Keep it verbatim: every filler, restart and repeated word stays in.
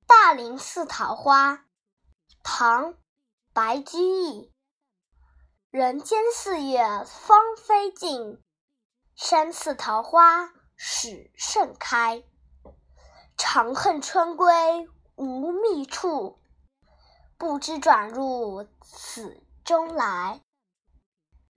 大林寺桃花，唐·白居易。人间四月芳菲尽，山寺桃花始盛开。长恨春归无觅处，不知转入此中来。